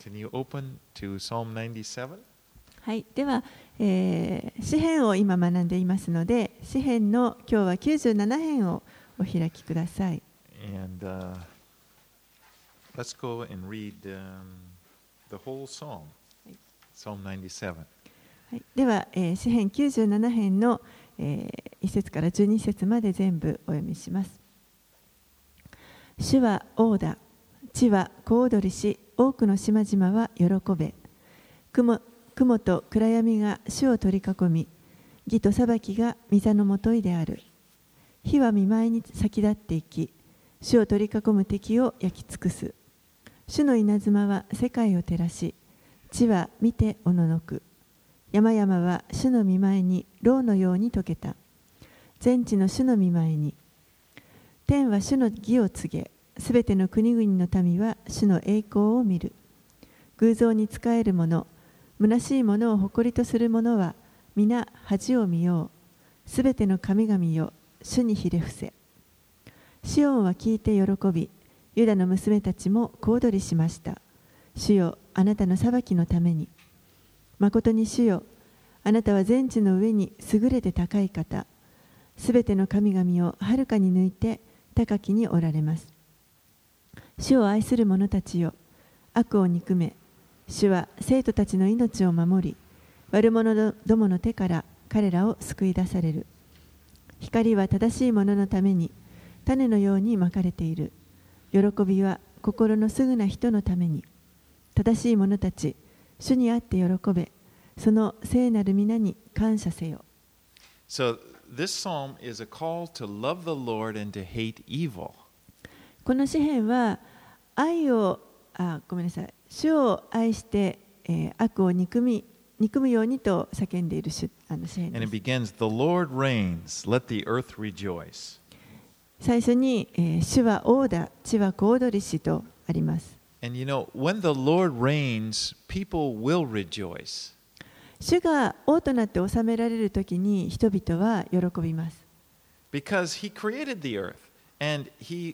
Can you open to Psalm 97? はい、では、詩編を今学んでいますので、詩編の今日は97編をお開きください。 And let's go and read the whole psalm, Psalm 97. はい、では、詩編97編の、1節から12節まで全部お読みします。主は王だ、地は小躍りし、多くの島々は喜べ。雲と暗闇が主を取り囲み、義と裁きが御座のもといである。火は見舞いに先立っていき、主を取り囲む敵を焼き尽くす。主の稲妻は世界を照らし、地は見ておののく。山々は主の見舞いに蝋のように溶けた。全地の主の見舞いに。天は主の義を告げ、すべての国々の民は主の栄光を見る。偶像に仕える者、虚しいものを誇りとする者は皆恥を見よう。すべての神々よ、主にひれ伏せ。シオンは聞いて喜び、ユダの娘たちも小躍りしました。主よ、あなたの裁きのために。まことに主よ、あなたは全地の上に優れて高い方。すべての神々をはるかに抜いて高きにおられます。主を愛する者たちよ、悪を憎め。主は生徒たちの命を守り、悪者どもの手から彼らを救い出される。光は正しい者のために種のようにまかれている。喜びは心のすぐな人のために。正しい者たち、主にあって喜べ。その聖なる皆に感謝せよ。 So this psalm is a call to love the Lord and to hate evil. この詩篇は主を愛して、悪を憎むようにと叫んでいる詩篇です。 And it begins, The Lord reigns, let the earth rejoice. 最初に、主は王だ、地は小躍りしとあります。 And you know, when the Lord reigns, people will rejoice. 主が王となって治められるときに人々は喜びます。 Because He created the earth, and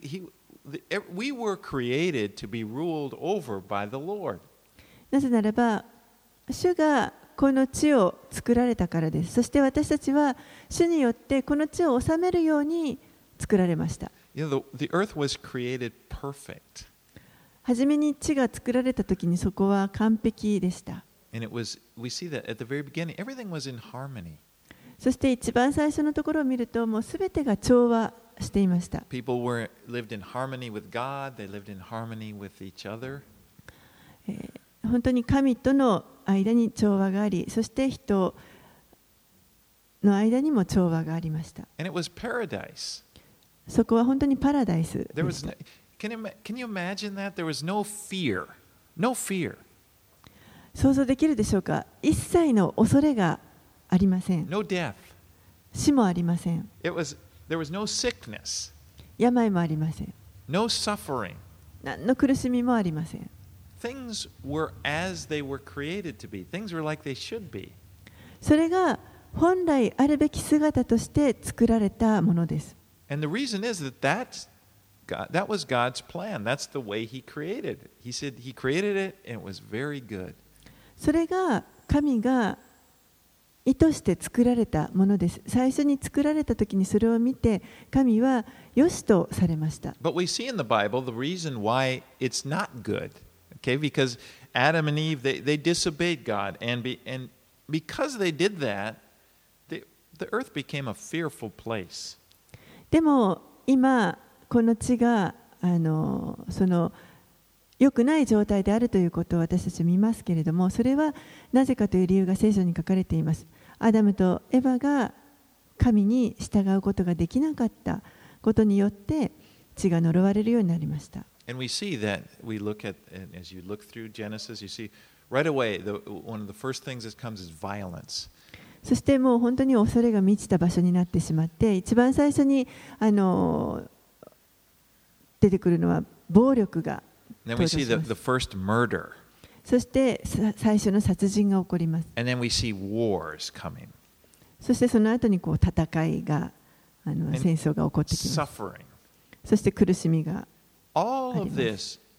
we were created to be ruled over by the Lord. なぜならば、主がこの地を作られたからです。そして私たちは主によってこの地を治めるように作られました。 You know, the earth was created perfect. はじめに地が作られたときにそこは完璧でした。 And we see that at the very beginning, everything was in harmony. そして一番最初のところを見ると、もうすべてが調和していました。 People lived in harmony with God, they lived in harmony with each other. 本当に神との間に調和があり、そして人の間にも調和がありました。 And it was paradise. そこは本当にパラダイスでした。 Can you imagine that? There was no fear. No fear. 想像できるでしょうか。一切の恐れがありません。 No death. 死もありません。 There was no sickness. 病もありません。 No suffering. 何の苦しみもありません。 Things were as they were created to be. Things were like they should be. それが本来あるべき姿として作られたものです。 And the reason is that was God's plan. That's the way He created it. He said He created it and it was very good. それが神が意図して作られたものです。最初に作られた時にそれを見て神は良しとされました。 But we see in the Bible the reason why it's not good. Okay, because Adam and Eve they disobeyed God, and because they did that, the earth became a fearful place. でも今この地がその良くない状態であるということを私たち見ますけれども、それはなぜかという理由が聖書に書かれています。アダムとエヴァが神に従うことができなかったことによって地が呪われるようになりました。 And we see that as you look through Genesis, you see right away one of the first things that comes is violence. そしてもう本当に恐れが満ちた場所になってしまって、一番最初に出てくるのは暴力が。 Then we see the first murder. そして最初の殺人が起こります。 And then we see wars coming. そしてその後に戦いが戦争が起こってきます。 Suffering. そして苦しみが All of this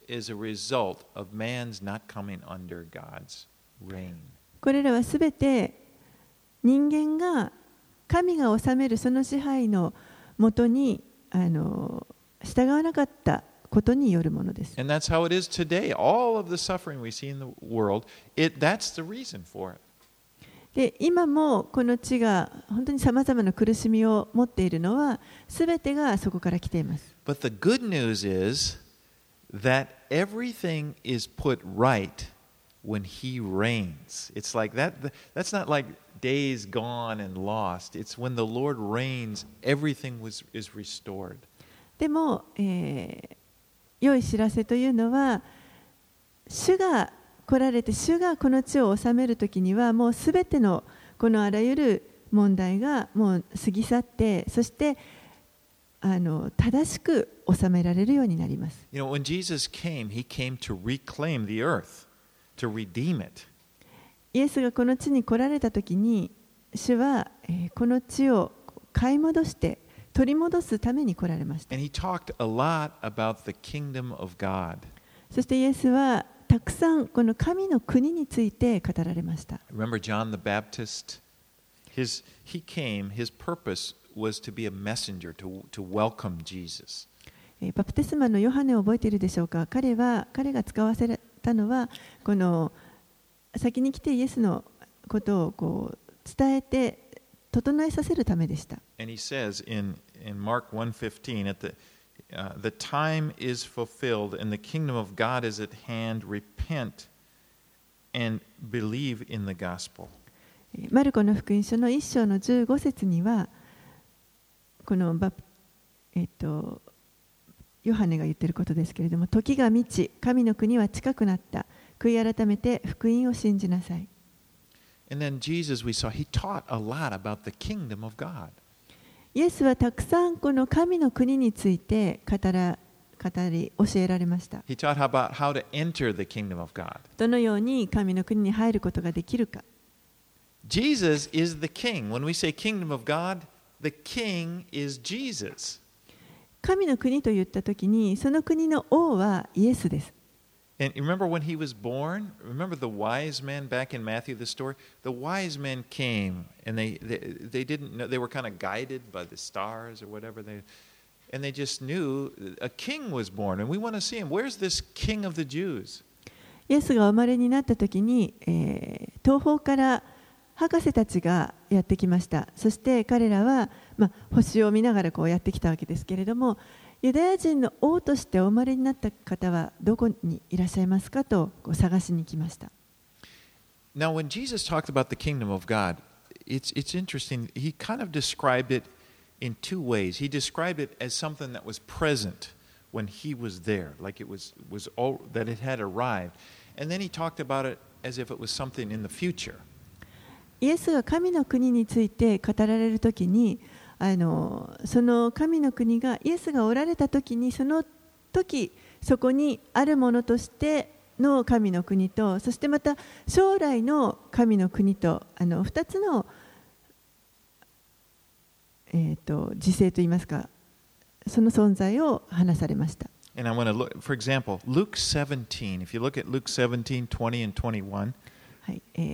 is a result of man's not coming under God's reign. これらはすべて人間が神が治めるその支配のもとに従わなかったことによるものです。 And that's how it is today. All of the suffering we see in the world, that's the reason for it. で今もこの地が本当にさまざまな苦しみを持っているのはすべてがそこから来ています。 But the good news is that everything is put right when He reigns. It's like that. That's not like days gone and lost. It's when the Lord reigns, everything is restored. でも、良い知らせというのは、主が来られて、主がこの地を治めるときには、もうすべてのこのあらゆる問題がもう過ぎ去って、そして正しく治められるようになります。 You know, when Jesus came, He came to reclaim the earth, to redeem it. イエスがこの地に来られたときに、主はこの地を買い戻して取り戻すために来られました。 And He talked a lot about the kingdom of God. そしてイエスはたくさんこの神の国について語られました。 Remember John the Baptist? He came, his purpose was to be a messenger to welcome Jesus. バプテスマのヨハネを覚えているでしょうか。彼が使わせたのはこの先に来てイエスのことをこう伝えて整えさせるためでした。 And he says in Mark 1:15 the time is fulfilled and the kingdom of God is at hand. Repent and believe in the gospel. マルコの福音書の1章の15節にはこのヨハネが言っていることですけれども、時が満ち、神の国は近くなった。悔い改めて福音を信じなさい。 And then Jesus, we saw, he taught a lot about the kingdom of God. イエスはたくさんこの神の国について語り教えられました。 He taught about how to enter the kingdom of God. どのように神の国に入ることができるか。 Jesus is the king. When we say kingdom of God, the king is Jesus. 神の国と言ったときに、その国の王はイエスです。 And remember when he was born? Remember the wise men back in Matthew, the story? The wise men came and they didn't know, they were kind of guided by the stars or whatever. And they just knew a king was born and we want to see him. Where's this king of the Jews? イエスがお生まれになったときに、東方から博士たちがやってきました。そして彼らは、星を見ながらこうやってきたわけですけれども、ユダヤ人の王としてお生まれになった方はどこにいらっしゃいますかとこう探しに来ました。 Now, when Jesus talked about the kingdom of God, it's interesting. He kind of described it in two ways. He described it as something that was present when he was there, like it was all, that it had arrived. And then he talked about it as if it was something in the future. イエスが神の国について語られるときに、その神の国がイエスがおられたときに、その時そこにあるものとしての神の国と、そしてまた将来の神の国と2つの、時勢といいますか、その存在を話されました。 And I want to look, for example, Luke 17. If you look at Luke 17, 20 and 21. はい、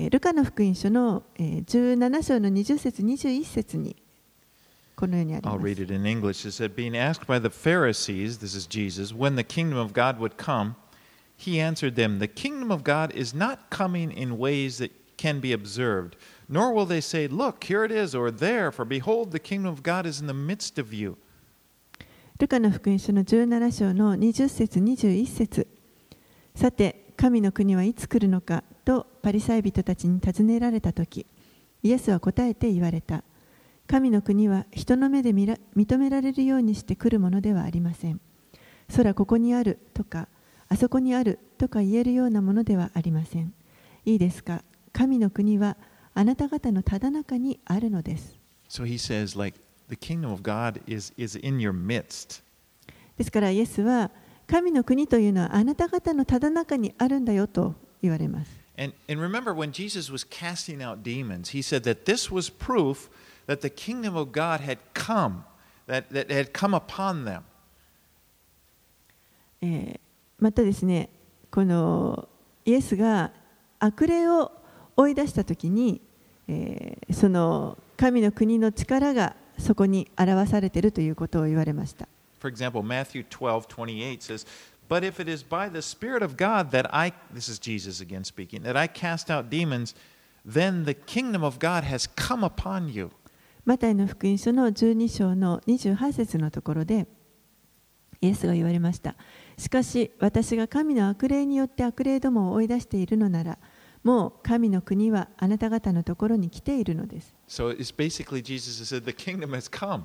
ルカの福音書の17章の20節21節にこのようにあります。 I'll read it in English. It said, being asked by the Pharisees, this is Jesus, when the kingdom of God would come, he answered them, the kingdom of God is not coming in ways that can be observed, nor will they say, look, here it is, or there, for behold, the kingdom of God is in the midst of you. ルカの福音書の17章の20節21節。さて、神の国はいつ来るのかとパリサイ人たちに尋ねられたとき、イエスは答えて言われた。神の国は人の目で認められるようにして来るものではありません。空ここにあるとか、あそこにあるとか言えるようなものではありません。いいですか、神の国はあなた方のただ中にあるのです。 So he says, like, the kingdom of God is in your midst. ですからイエスは神の国というのはあなた方のただ中にあるんだよと言われます。 And remember when Jesus was casting out demons, he said that this was proof that the kingdom of God had come, that had come upon them. またですね、このイエスが悪霊を追い出したときに、その神の国の力がそこに表されているということを言われました。 For example, Matthew 12:28 says, But if it is by the Spirit of God that this is Jesus again speaking, that I cast out demons, then the kingdom of God has come upon you. マタイの福音書の12章の28節のところで、イエスが言われました。しかし、私が神の悪霊によって悪霊どもを追い出しているのなら、もう神の国はあなた方のところに来ているのです。 So it's basically Jesus has said, The kingdom has come.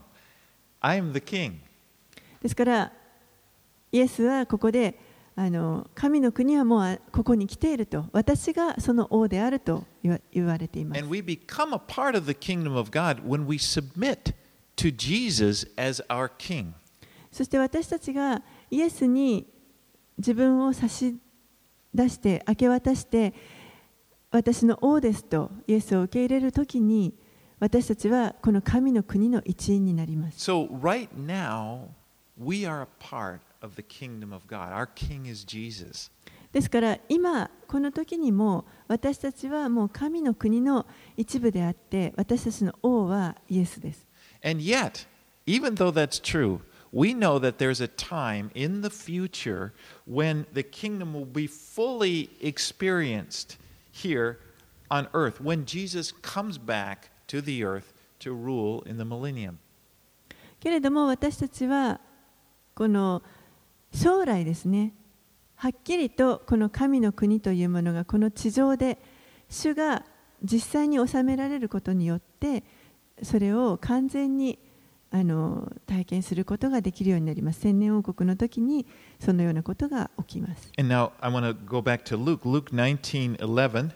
I am the king. ですから、イエスはここで、神の国はもうここに来ていると、私がその王であると言われています。 And we become a part of the kingdom of God when we submit to Jesus as our king. そして私たちがイエスに自分を差し出して、明け渡して、私の王ですとイエスを受け入れるときに、私たちはこの神の国の一員になります。 So right now, we are a part of the kingdom of God. Our king is Jesus. ですから今この時にも私たちはもう神の国の一部であって、私たちの王はイエスです。 And yet, even though that's true, we know that there's a time in the future when the kingdom will be fully experienced here on earth, when Jesus comes back to the earth to rule in the millennium. けれども私たちはこの将来ですね、はっきりとこの神の国というものがこの地上で主が実際に治められることによって、それを完全に体験することができるようになります。千年王国の時にそのようなことが起きます。 And now I want to go back to Luke 19:11,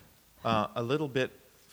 a little bit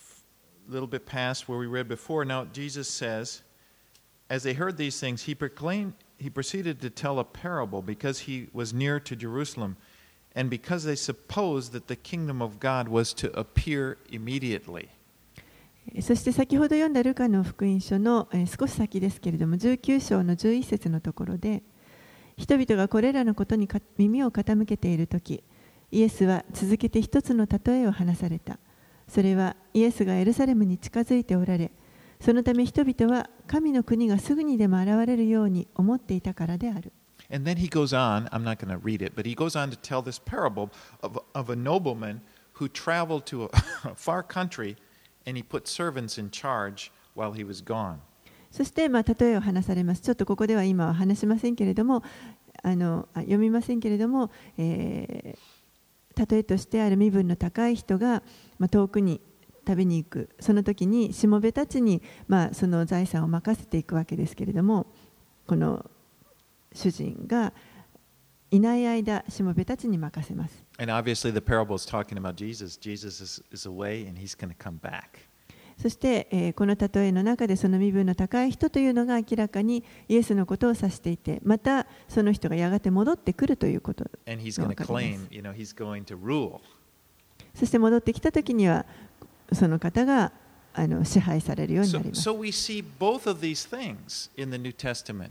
past where we read before. Now Jesus says, as they heard these things, he proceeded to tell a parable because he was near to Jerusalem, and because they supposed that the kingdom of God was to appear immediately. そして先ほど読んだルカの福音書の少し先ですけれども、19章の11節のところで、人々がこれらのことに耳を傾けているとき、イエスは続けて一つの例えを話された。それはイエスがエルサレムに近づいておられ、そのため人々は神の国がすぐにでも現れるように思っていたからである。 And then he goes on, I'm not going to read it, but he goes on to tell this parable of a nobleman who traveled to a far country and he put servants in charge while he was gone. そして、例えを話されます。ちょっとここでは今は話しませんけれども、読みませんけれども、例えとしてある身分の高い人が、遠くに旅に行く。その時にしもべたちに、その財産を任せていくわけですけれども、この主人がいない間、しもべたちに任せます。 And obviously the parable is talking about Jesus. Jesus is away and he's going to come back. そして、この例えの中でその身分の高い人というのが明らかにイエスのことを指していて、またその人がやがて戻ってくるということが分かります。 And he's going to claim, he's going to rule. そして戻ってきた時にはその方が支配されるようになります。 So we see both of these things in the New Testament.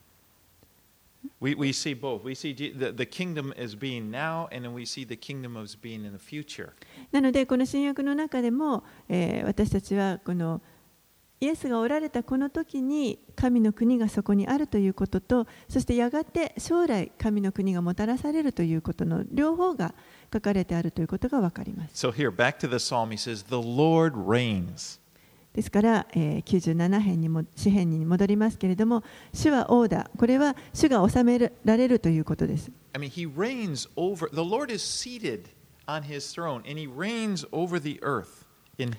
We see both. We see the kingdom as being now, and then we see the kingdom as being in the future. なのでこの新約の中でも、私たちはこのイエスがおられたこの時に神の国がそこにあるということと、そしてやがて将来神の国がもたらされるということの両方が書かれてあるということが分かります。 So here, back to the psalm, he says, "The Lord reigns." ですから、97編にも詩編に戻りますけれども、主は王だ。これは主が治められるということです。 I mean, he reigns over. The Lord is seated on his throne, and he reigns over the earth. And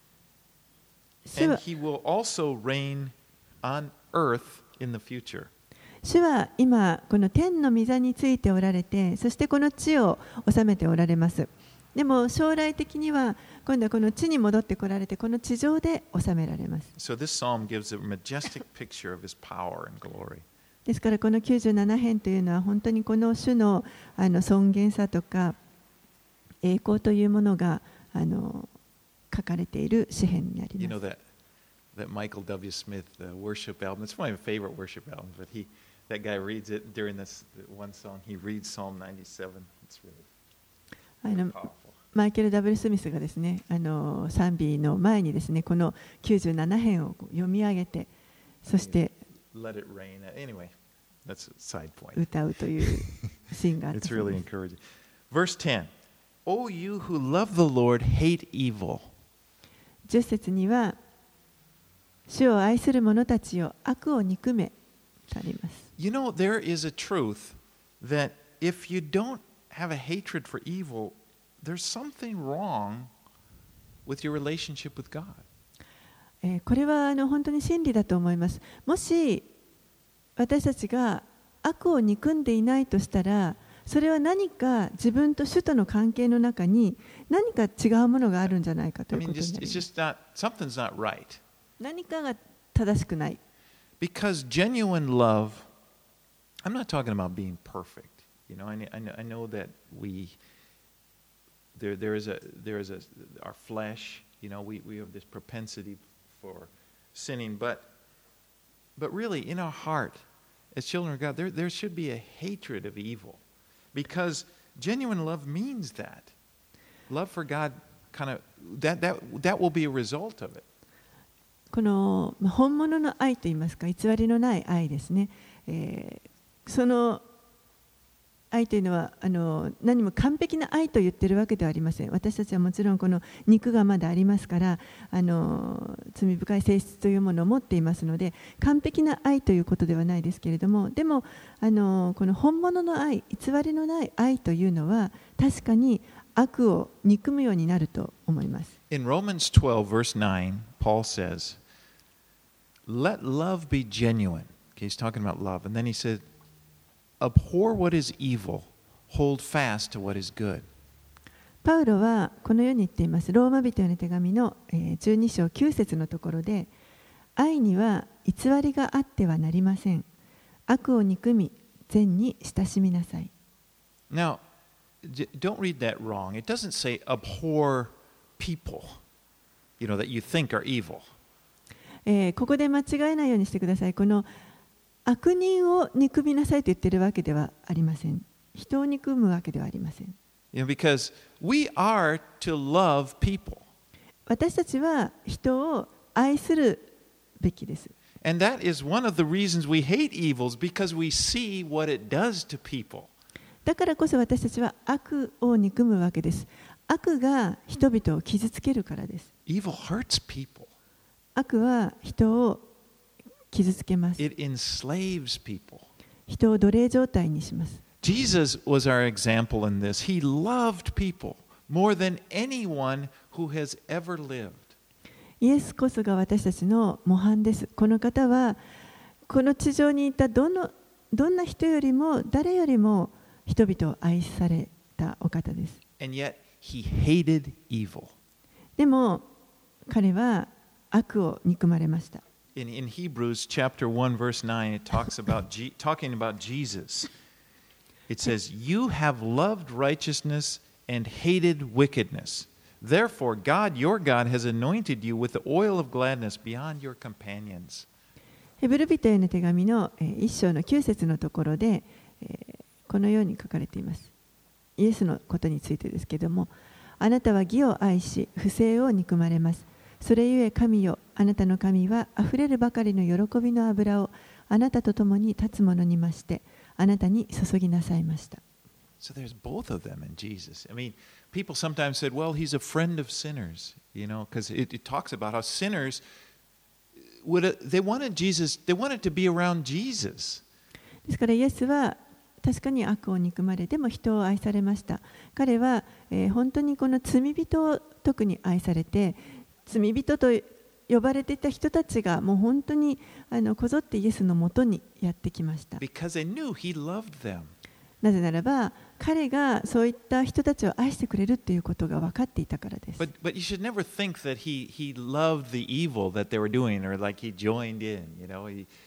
he will also reign on earth in the future. 主は今この天の御座についておられて、そしてこの地を治めておられます。でも将来的には今度はこの地に戻ってこられて、この地上で治められます。 So this psalm gives a majestic picture of his power and glory. ですからこの97編というのは本当にこの主の尊厳さとか栄光というものが書かれている詩編になります。 You know that Michael W. Smith worship album. It's one of my favorite worship albums. But That guy reads it during this one song. He reads Psalm 97. It's really あの powerful. マイケル・ W ・スミスがですね、賛美の前にですね、この97編を読み上げて、そして Let it rain. Anyway, that's a side point. 歌うというシーンがあった It's そう really です。 encouraging. Verse 10. O you who love the Lord, hate evil. 10節には、主を愛する者たちよ、悪を憎めとあります。 You know, there is a truth that if you don't have a hatred for evil, there's something wrong with your relationship with God. これは本当に真理だと思います。もし私たちが悪を憎んでいないとしたら、それは何か自分と主との関係の中に何か違うものがあるんじゃないかと I いう mean, ことになり it's ます。 just not, something's not right. 何かが正しくない。 Because genuine love, I'm not talking about being perfect. You know, I know that there is our flesh, you know, we have this propensity for sinning, but really in our heart, as children of God, there should be a hatred of evil. Because genuine love means that. Love for God kind of, that will be a result of it. この本物の愛といいますか、偽りのない愛ですね。その愛というのは何も完璧な愛と言っているわけではありません。私たちはもちろんこの肉がまだありますから罪深い性質というものを持っていますので、完璧な愛ということではないですけれども、でもこの本物の愛、偽りのない愛というのは確かに悪を憎むようになると思います。 In Romans 12, verse 9, Paul says, Let love be genuine. Okay, he's talking about love. And then he said, Abhor what is evil, hold fast to what is good. パウロはこのように言っています。ローマ人への手紙の12章9節のところで、愛には偽りがあってはなりません。悪を憎み、善に親しみなさい。 Now, don't read that wrong. It doesn't say abhor people, you know, that you think are evil. ここで間違えないようにしてください。この悪人を憎みなさいと言っているわけではありません。人を憎むわけではありません。 You know, because we are to love people. 私たちは人を愛するべきです。 And that is one of the reasons we hate evils, because we see what it does to people. だからこそ私たちは悪を憎むわけです。悪が人々を傷つけるからです。 Evil hurts people. 悪は人を傷つけます。 It enslaves people. 人を奴隷状態にします。 Jesus was our example in this. He loved people more than anyone who has ever lived. イエスこそが私たちの模範です。この方はこの地上にいたどんな人よりも誰よりも人々を愛されたお方です。 And yet he hated evil. でも彼は悪を憎まれました。 In Hebrews chapter 1 verse 9 it talks about talking about Jesus. It says, "You have loved righteousness and hated wickedness. Therefore God, your God, has anointed you with the oil of gladness beyond your companions." ヘブル人への手紙の1章の9節のところでこのように書かれています。イエスのことについてですけれども、あなたは義を愛し不正を憎まれます。それゆえ神よ、あなたの神はあふれるばかりの喜びの油をあなたと共に立つ者に増してあなたに注ぎなさいました。 So there's both of them in Jesus. I mean, people sometimes said, well, he's a friend of sinners, you know, because it talks about how sinners they wanted to be around Jesus. ですからイエスは確かに悪を憎まれ、でも人を愛されました。彼は、本当にこの罪人を特に愛されて、罪人と呼ばれていた人たちがもう本当にこぞってイエスのもとにやってきました。 Because they knew he loved them. なぜならば彼がそういった人たちを愛してくれるということが分かっていたからです。 But you should never think that he loved the evil that they were doing, or like he joined in. You know,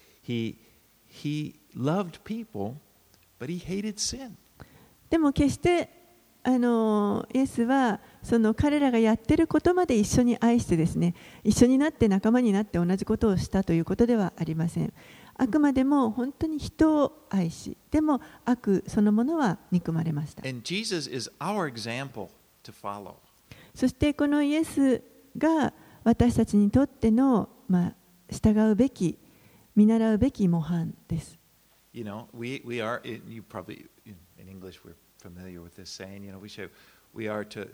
he loved people, but he hated sin. でも決してイエスはその彼らがやっていることまで一緒に愛してですね、一緒になって仲間になって同じことをしたということではありません。 あくまでも本当に人を愛し、でも悪そのものは憎まれました。 And Jesus is our example to follow. そしてこのイエスが私たちにとっての、従うべき、見習うべき模範です。 You know, we are, you probably, in English, we're familiar with this saying, you know, we are to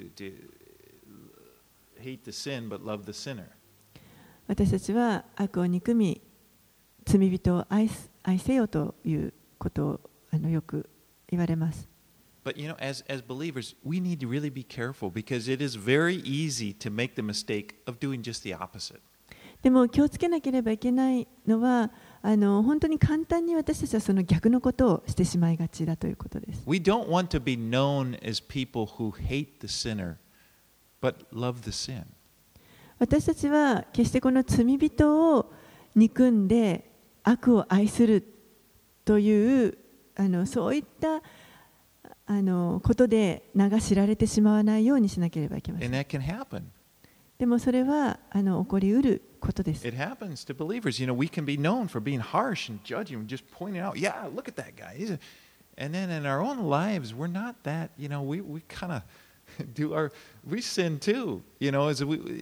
hate the sin but love the sinner. 私たちは悪を憎み、罪人を愛せよということをよく言われます。 But you know, as believers, we need to really be careful because it is very easy to make the mistake of doing just the opposite. でも気をつけなければいけないのは、本当に簡単に私たちはその逆のことをしてしまいがちだということです。 We don't want to be known as people who hate the sinner, but love the sin. 私たちは決してこの罪人を憎んで悪を愛するというそういったことで名が知られてしまわないようにしなければいけません。 And that can happen. でもそれは起こりうることです。 It happens to believers. You know, we can be known for being harsh and judging and just pointing out, yeah, look at that guy. And then in our own lives, we're not that, you know, we kind of we sin too, you know,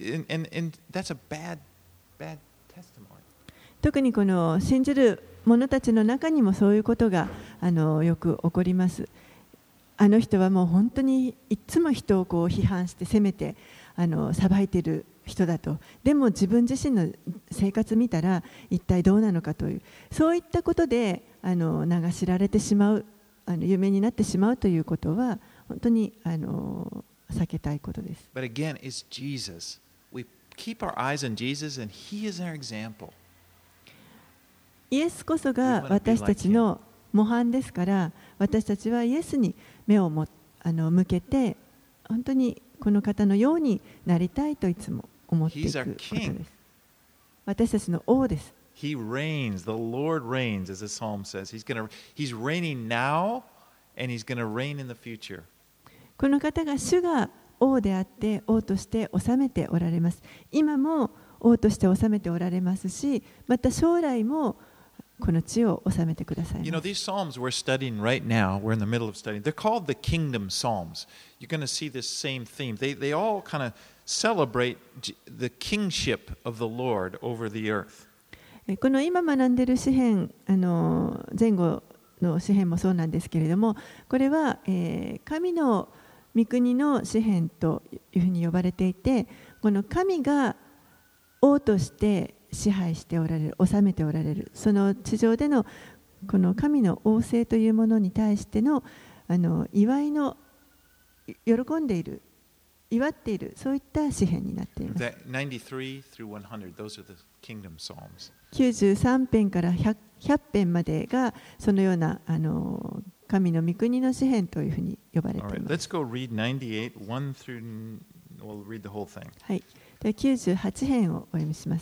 and that's a bad testimony. 特にこの信じる者たちの中にもそういうことがよく起こります。あの人はもう本当にいつも人をこう批判して責めて裁いている人だと。でも自分自身の生活見たら一体どうなのかという、そういったことで名が知られてしまう、有名になってしまうということは本当に避けたいことです。 But again, it's Jesus. We keep our eyes on Jesus, and He is our example. イエスこそが私たちの模範ですから、私たちはイエスに目を向けて、本当にこの方のようになりたいといつも思っていくことです。私たちの王です。 He reigns. The Lord reigns, as the psalm says. He's reigning now, and He's going to reign in the future. この方が主が王であって王として治めておられます。今も王として治めておられますし、また将来もこの地を治めてくださいます。 You know, these psalms we're studying right now, we're in the middle of studying, they're called the kingdom psalms. You're going to see this same theme. They all kind of celebrate the kingship of the Lord over the earth. この今学んでいる詩編、前後の詩編もそうなんですけれども、これは、神の御国の詩編というふうに呼ばれていて、この神が王として支配しておられる、治めておられる、その地上でのこの神の王政というものに対しての祝いの、喜んでいる、祝っている、そういった詩編になっています。 93 through 100, those are the kingdom psalms. 93編から100編までがそのような神の御国の詩編というふうに呼ばれています。 All right, let's go read 98, 1 through, we'll read the whole thing. はい。で98編をお読みします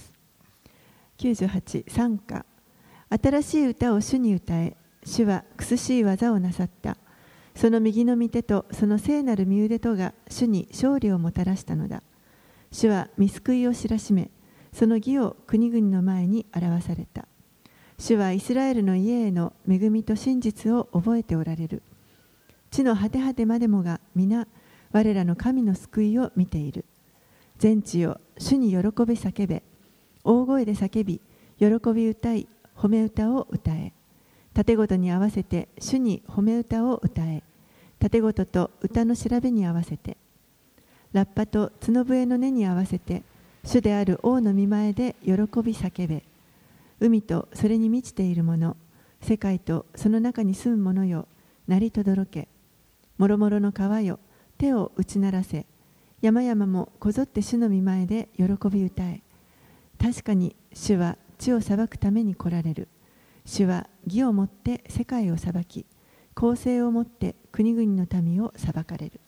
。98、賛歌。新しい歌を主に歌え、主は苦しい技をなさった。その右の御手とその聖なる御腕とが主に勝利をもたらしたのだ。主は御救いを知らしめ、その義を国々の前に表された。主はイスラエルの家への恵みと真実を覚えておられる。地の果て果てまでもが皆、我らの神の救いを見ている。全地よ、主に喜び叫べ。大声で叫び、喜び歌い、褒め歌を歌え。盾ごとに合わせて主に褒め歌を歌え。盾ごとと歌の調べに合わせて。ラッパと角笛の音に合わせて、主である王の御前で喜び叫べ。海とそれに満ちているもの、世界とその中に住む者よ、鳴りとどろけ。もろもろの川よ、手を打ち鳴らせ。山々もこぞって主の御前で喜び歌え。確かに主は地を裁くために来られる。主は義をもって世界を裁き、公正をもって国々の民を裁かれる。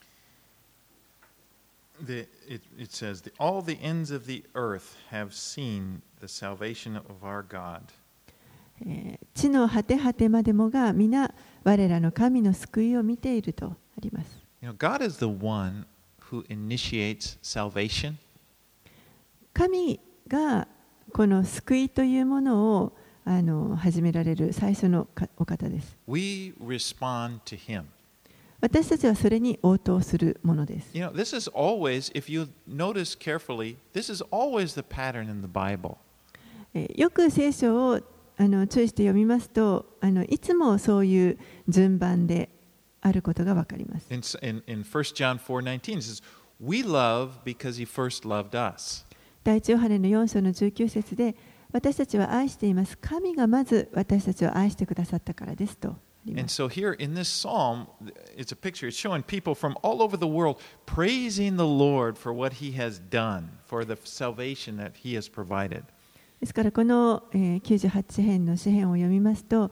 It says, all the ends of the earth have seen the salvation of our God. 地の果て果てまでもが皆我らの神の救いを見ているとあります。 You know, God is the one who initiates salvation. 神がこの救いというものを始められる最初のお方です。 We respond to him. 私たちはそれに応答するものです。 You know, this is always, if you notice carefully, this is always the pattern in the Bible. よく聖書を注意して読みますと、いつもそういう順番であることがわかります。 In 1 John 4:19 it says, We love because he first loved us. 第一ヨハネの4章の19節で、私たちは愛しています。神がまず私たちを愛してくださったからですとありま And す。 so here in this psalm, it's a picture, it's showing people from all over the world praising the Lord for what he has done, for the salvation that he has provided. ですからこの98編の詩編を読みますと、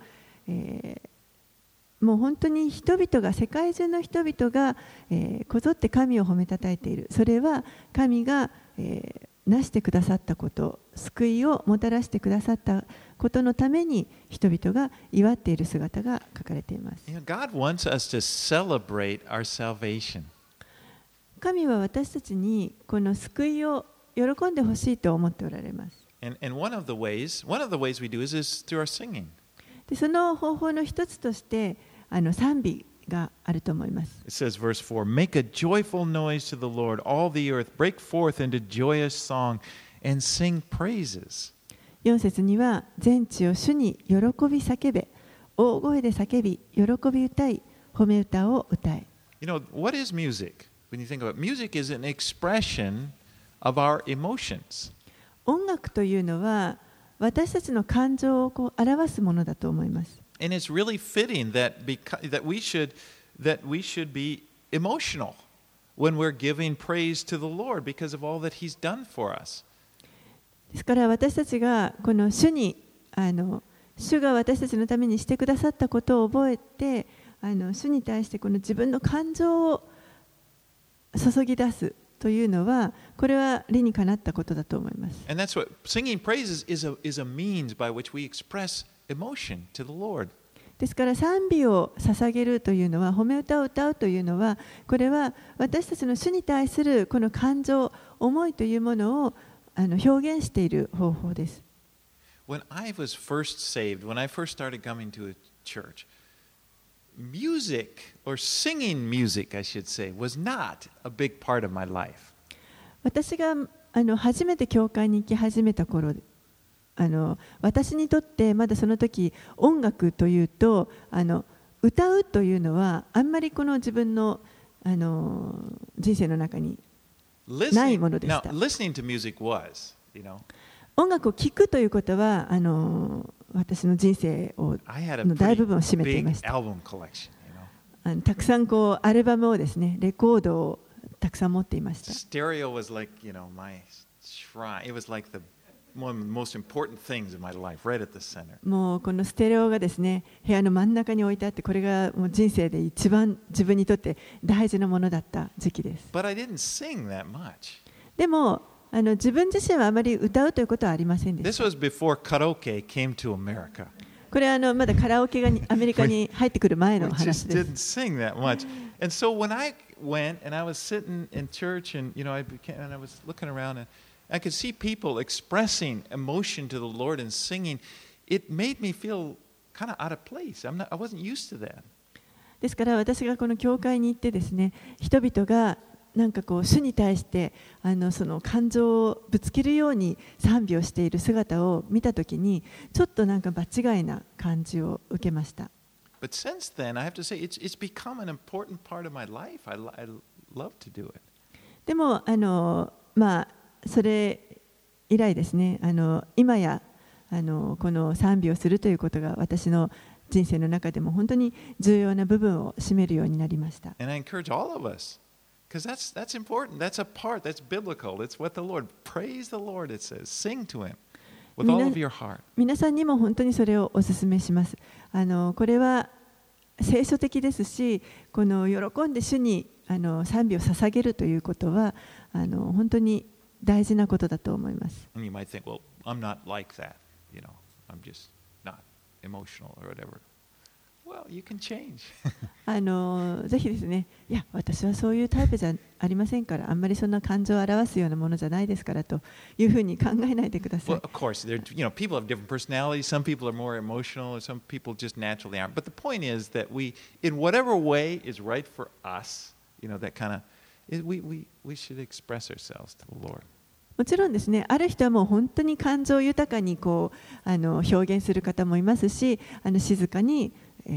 もう本当に人々が、世界中の人々がこぞって神を褒めたたえている。それは神がなしてくださったこと、救いをもたらしてくださったことのために人々が祝っている姿が書かれています。 You know, God wants us to celebrate our salvation. 神は私たちにこの救いを喜んでほしいと思っておられます。 And one of the ways we do is through our singing. でその方法の一つとして賛美があると思います。 It says, verse 4, Make a joyful noise to the Lord, all the earth, break forth into joyous song and sing praises. 4節には、全地を主に喜び叫べ、大声で叫び、喜び歌い、褒め歌を歌え。 You know, what is music? When you think about it, music is an expression of our emotions. 音楽というのは、私たちの感情を表すものだと思います。 And it's really fitting that we should be emotional when we're giving praise to the Lord because of all that He's done for us. ですから私たちがこの主が私たちのためにしてくださったことを覚えて、主に対してこの自分の感情を注ぎ出すというのは、これは理にかなったことだと思います。 And that's what singing praises is a means by which we express emotion to the Lord. ですから賛美を捧げるというのは、褒め歌を歌うというのは、これは私たちの主に対するこの感情、思いというものを表現している方法です。 When I was first saved, when I first started coming to a church, music or singing music, I should say, was not a big part of my life. 私が初めて教会に行き始めた頃、私にとってまだその時音楽というと歌うというのはあんまりこの自分の人生の中にないものでした。 Listening to music was, you know. 音楽を聴くということは私の人生の大部分を占めていました。たくさんアルバムをですね、レコードをたくさん持っていました。 Stereo was like, you know, my shrine. It was like one of the most important things in my life, right at the center. もうこのステレオがですね、部屋の真ん中に置いてあって、これがもう人生で一番自分にとって大事なものだった時期です。 But I didn't sing that much. でも自分自身はあまり歌うということはありませんでした。 This was before karaoke came to America. これはまだカラオケがアメリカに入ってくる前の We 話 just です。 didn't sing that much. And so when I went and I was sitting in church and I was looking around and I could see people expressing emotion to the Lord and singing, it made me feel kind of out of place. I wasn't used to that. ですから私がこの教会に行ってですね、人々がなんか主に対してその感情をぶつけるように賛美をしている姿を見たときに、ちょっとなんか場違いな感じを受けました。 But since then, I have to say, it's become an important part of my life. I love to do it. でもそれ以来ですね、今やこの賛美をするということが私の人生の中でも本当に重要な部分を占めるようになりました。 And I encourage all of us, because that's important. That's a part. That's biblical. It's what the Lord. Praise the Lord. It says, sing to Him with all of your heart. 皆さんにも本当にそれをお勧めします。これは聖書的ですし、この喜んで主に賛美を捧げるということは本当に大事なことだと思います。 And you might think, well, I'm not like that. I'm just not emotional or whatever. well, you can change. ぜひですね、いや、私はそういうタイプじゃありませんから、あんまりそんな感情を表すようなものじゃないですからというふうに考えないでください。 Well, of course, people have different personalities. Some people are more emotional, and some people just naturally aren't. But the point is that we, in whatever way is right for us, that kind of, we should express ourselves to the Lord. もちろんですね、ある人はもう本当に感情豊かに表現する方もいますし、静かに、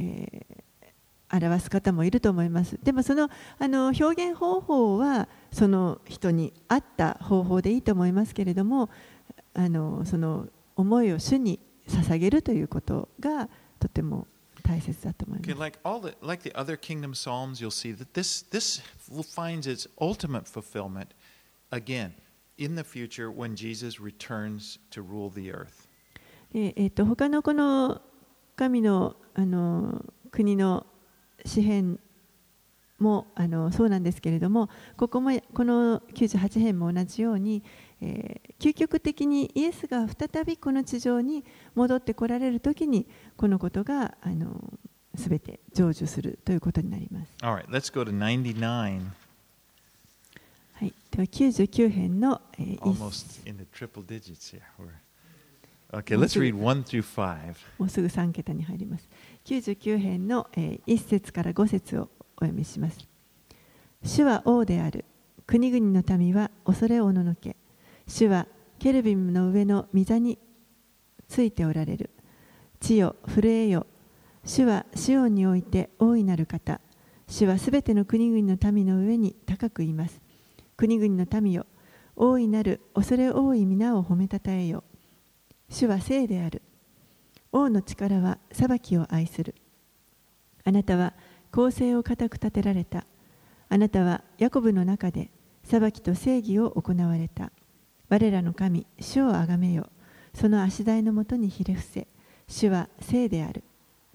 表す方もいると思います。でもその、表現方法はその人に合った方法でいいと思いますけれども、その思いを主に捧げるということがとても大切だと思います。 Okay, like the other kingdom psalms, you'll see that this finds its ultimate fulfillment again in the future when Jesus returns to rule the earth. 他のこの神の国の詩編もそうなんですけれども、この98編も同じように、究極的にイエスが再びこの地上に戻ってこられるときにこのことがすべて成就するということになります。 All right, let's go to 99. はい、では99編の、 Almost in the triple digits here. Okay, let's read 1 through 5. もうすぐ3桁に入ります。99編の1節から5節をお読みします。主は王である。国々の民は恐れおののけ。主はケルビムの上の御座についておられる。地よ、震えよ。主はシオンにおいて大いなる方。主はすべての国々の民の上に高くいます。国々の民よ、大いなる恐れ多い皆を褒めたたえよ。主は聖である。王の力は裁きを愛する。あなたは公正を固く立てられた。あなたはヤコブの中で裁きと正義を行われた。我らの神、主をあがめよ。その足台のもとにひれ伏せ。主は聖である。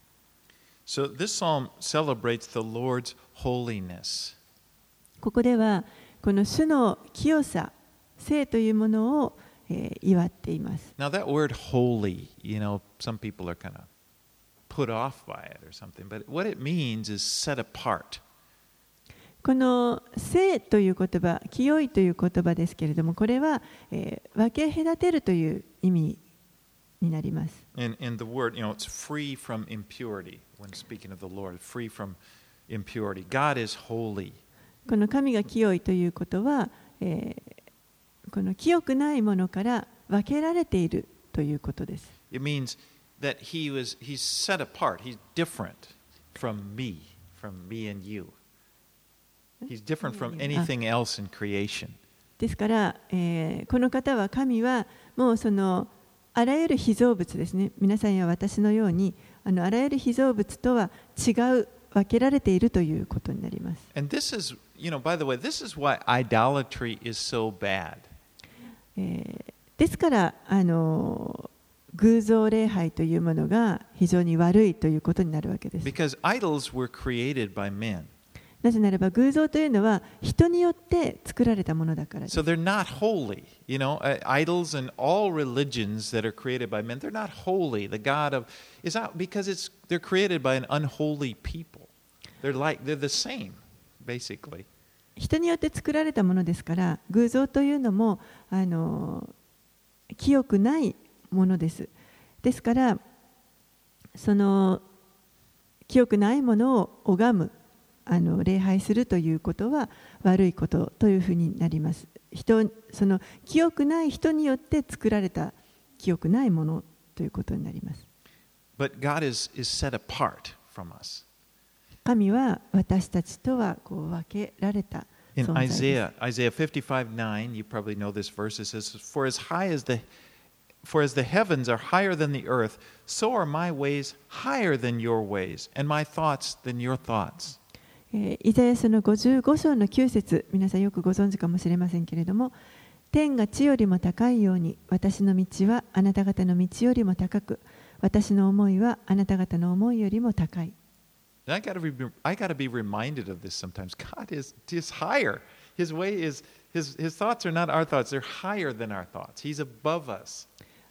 So this psalm celebrates the Lord's holiness. ここではこの主の清さ、聖というものを祝っています。 Now that word holy, some people are kind of put off by it or something, but what it means is set apart. この聖という言葉、清いという言葉ですけれども、これは、分け隔てるという意味になります。 And the word, it's free from impurity when speaking of the Lord, free from impurity. God is holy. この神が清いということは、この清くないものから分けられているということです。 It means that he's set apart. He's different from me and you. He's different from anything else in creation. ですから、この方は神はもうそのあらゆる被造物ですね。皆さんや私のようにあらゆる被造物とは違う分けられているということになります。 And this is, by the way, this is why idolatry is so bad. ですから偶像礼拝というものが非常に悪いということになるわけです。 Because idols were created by men. なぜならば偶像というのは人によって作られたものだからです。 So they're not holy. Idols and all religions that are created by men, they're not holy. The God of is out because they're created by an unholy people. They're the same, basically. 人によって作られたものですから、偶像というのも清くないものです。ですから、その清くないものを拝む、礼拝するということは悪いことというふうになります。その清くない人によって作られた清くないものということになります。 But God is set apart from us. 神は私たちとは分けられた存在です。 In Isaiah 55:9, you probably know this verse. It says, For as the heavens are higher than the earth, so are my ways higher than your ways, and my thoughts than your thoughts. イザヤ書の55章の9節、皆さんよくご存知かもしれませんけれども、天が地よりも高いように、私の道はあなた方の道よりも高く、私の思いはあなた方の思いよりも高い。 I got to be reminded of this sometimes. God is higher. His way is his thoughts are not our thoughts. They're higher than our thoughts. He's above us.